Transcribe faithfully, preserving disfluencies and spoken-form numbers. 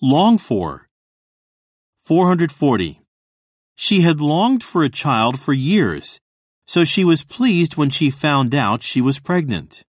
Long for. four hundred forty. She had longed for a child for years, so she was pleased when she found out she was pregnant.